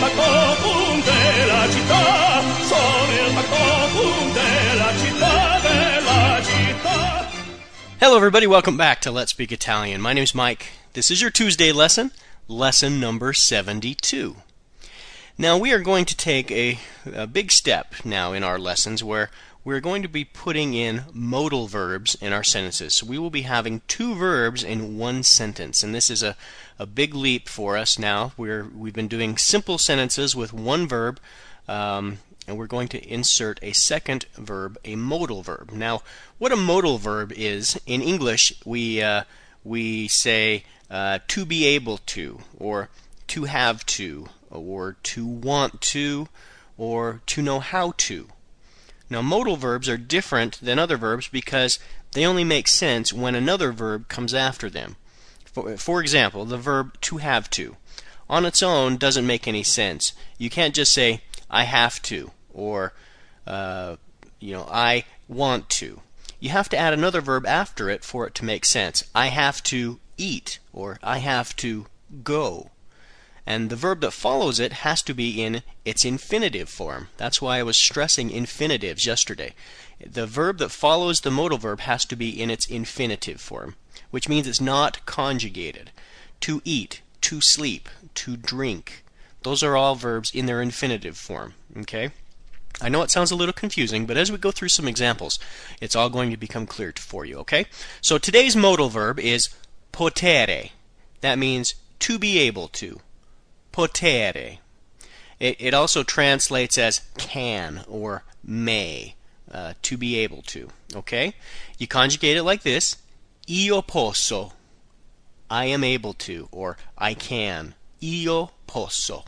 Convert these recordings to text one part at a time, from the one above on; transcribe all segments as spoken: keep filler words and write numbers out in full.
factotum della città, sono il factotum della città, della città. Hello everybody, welcome back to Let's Speak Italian. My name's Mike. This is your Tuesday lesson, lesson number seventy-two. Now we are going to take a, a big step now in our lessons where we're going to be putting in modal verbs in our sentences. So we will be having two verbs in one sentence, and this is a, a big leap for us now. We're, we've been doing simple sentences with one verb, um, and we're going to insert a second verb, a modal verb. Now, what a modal verb is, in English, we, uh, we say uh, to be able to, or to have to, or to want to, or to know how to. Now, modal verbs are different than other verbs because they only make sense when another verb comes after them. For, for example, the verb to have to. On its own doesn't make any sense. You can't just say, I have to, or, uh, you know, I want to. You have to add another verb after it for it to make sense. I have to eat, or I have to go. And the verb that follows it has to be in its infinitive form. That's why I was stressing infinitives yesterday. The verb that follows the modal verb has to be in its infinitive form, which means it's not conjugated. To eat, to sleep, to drink. Those are all verbs in their infinitive form. Okay? I know it sounds a little confusing, but as we go through some examples, it's all going to become clear for you. Okay? So today's modal verb is potere. That means to be able to. Potere. It, it also translates as can or may, uh, to be able to. Okay? You conjugate it like this: io posso, I am able to, or I can. Io posso.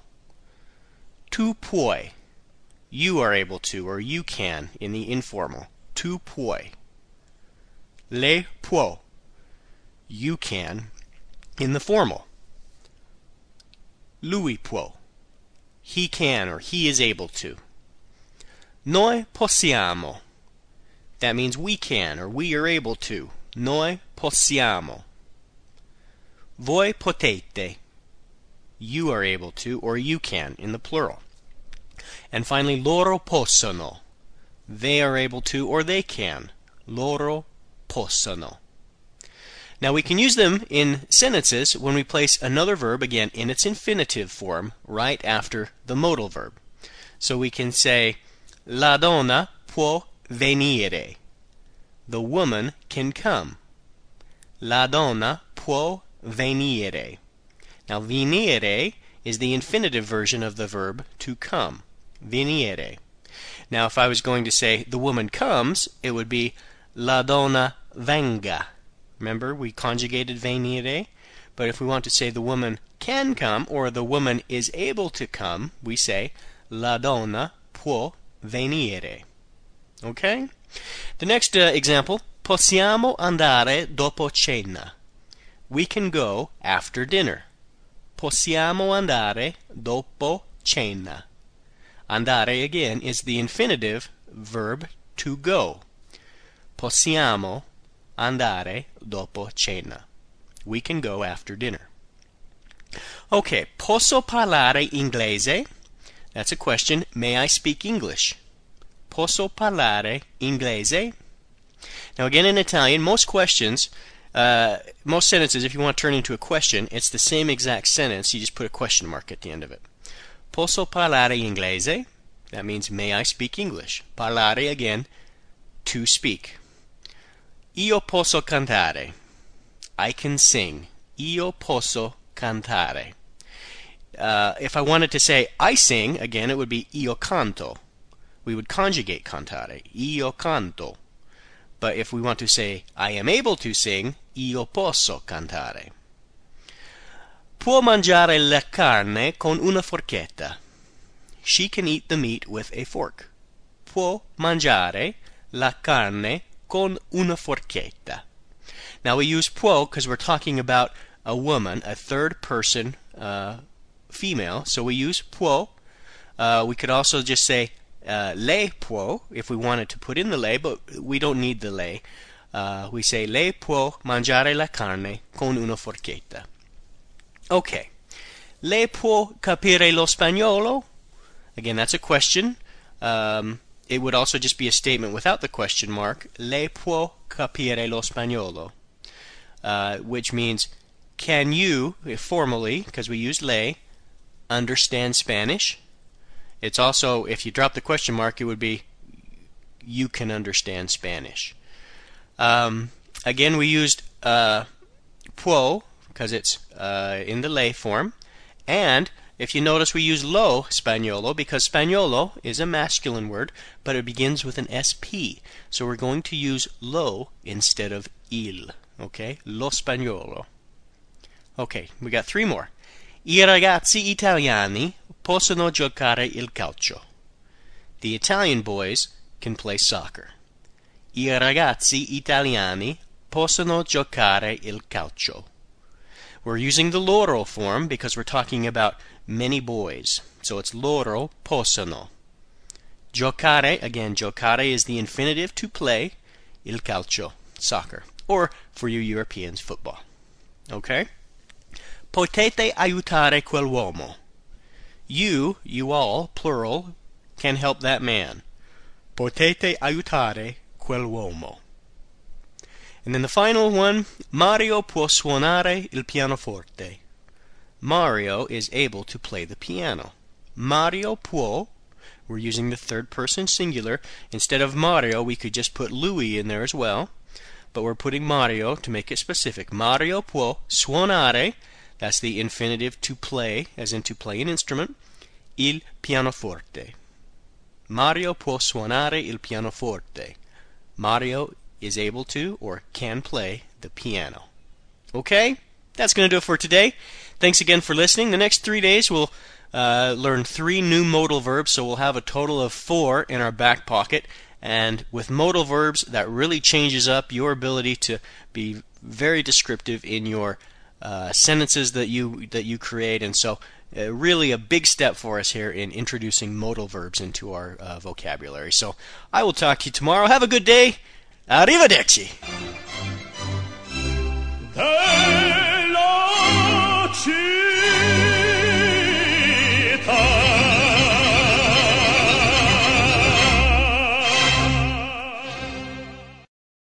Tu puoi, you are able to, or you can, in the informal. Tu puoi. Lei può, you can, in the formal. Lui può, he can, or he is able to. Noi possiamo, that means we can, or we are able to. Noi possiamo. Voi potete, you are able to, or you can, in the plural. And finally, loro possono, they are able to, or they can. Loro possono. Now we can use them in sentences when we place another verb, again, in its infinitive form, right after the modal verb. So we can say, la donna può venire. The woman can come. La donna può venire. Now venire is the infinitive version of the verb to come. Venire. Now if I was going to say the woman comes, it would be la donna venga. Remember, we conjugated venire, but if we want to say the woman can come, or the woman is able to come, we say la donna può venire. Okay? The next uh, example, possiamo andare dopo cena. We can go after dinner. Possiamo andare dopo cena. Andare, again, is the infinitive verb to go. Possiamo andare dopo cena. We can go after dinner. Okay, posso parlare inglese? That's a question. May I speak English? Posso parlare inglese? Now again, in Italian, most questions, uh, most sentences, if you want to turn into a question, it's the same exact sentence. You just put a question mark at the end of it. Posso parlare inglese? That means, may I speak English? Parlare, again, to speak. Io posso cantare. I can sing. Io posso cantare. Uh, if I wanted to say I sing, again, it would be io canto. We would conjugate cantare. Io canto. But if we want to say I am able to sing, io posso cantare. Può mangiare la carne con una forchetta. She can eat the meat with a fork. Può mangiare la carne con una forchetta. Now we use può because we're talking about a woman, a third person uh, female, so we use può. Uh, we could also just say uh, lei può if we wanted to put in the lei, but we don't need the lei. Uh, we say lei può mangiare la carne con una forchetta. Okay, Lei può capire lo spagnolo? Again, that's a question. Um, it would also just be a statement without the question mark. Lei può capire lo spagnolo? Uh, which means, can you, formally, because we use lei, understand Spanish? It's also, if you drop the question mark, it would be, you can understand Spanish. Um, again, we used uh, può, because it's uh, in the lei form. And if you notice, we use lo spagnolo, because spagnolo is a masculine word, but it begins with an S P. So we're going to use lo instead of il. Okay? Lo spagnolo. Okay, we got three more. I ragazzi italiani possono giocare il calcio. The Italian boys can play soccer. I ragazzi italiani possono giocare il calcio. We're using the loro form because we're talking about many boys. So it's loro possono. Giocare, again, giocare is the infinitive to play, il calcio, soccer. Or, for you Europeans, football. Okay? Potete aiutare quell'uomo. You, you all, plural, can help that man. Potete aiutare quell'uomo. And then the final one, Mario può suonare il pianoforte. Mario is able to play the piano. Mario può, we're using the third person singular. Instead of Mario, we could just put Louis in there as well. But we're putting Mario to make it specific. Mario può suonare, that's the infinitive to play, as in to play an instrument, il pianoforte. Mario può suonare il pianoforte. Mario is able to or can play the piano. Okay? That's going to do it for today. Thanks again for listening. The next three days we'll uh, learn three new modal verbs, so we'll have a total of four in our back pocket. And with modal verbs, that really changes up your ability to be very descriptive in your uh, sentences that you that you create. And so uh, really a big step for us here in introducing modal verbs into our uh, vocabulary. So I will talk to you tomorrow. Have a good day. Arrivederci. Della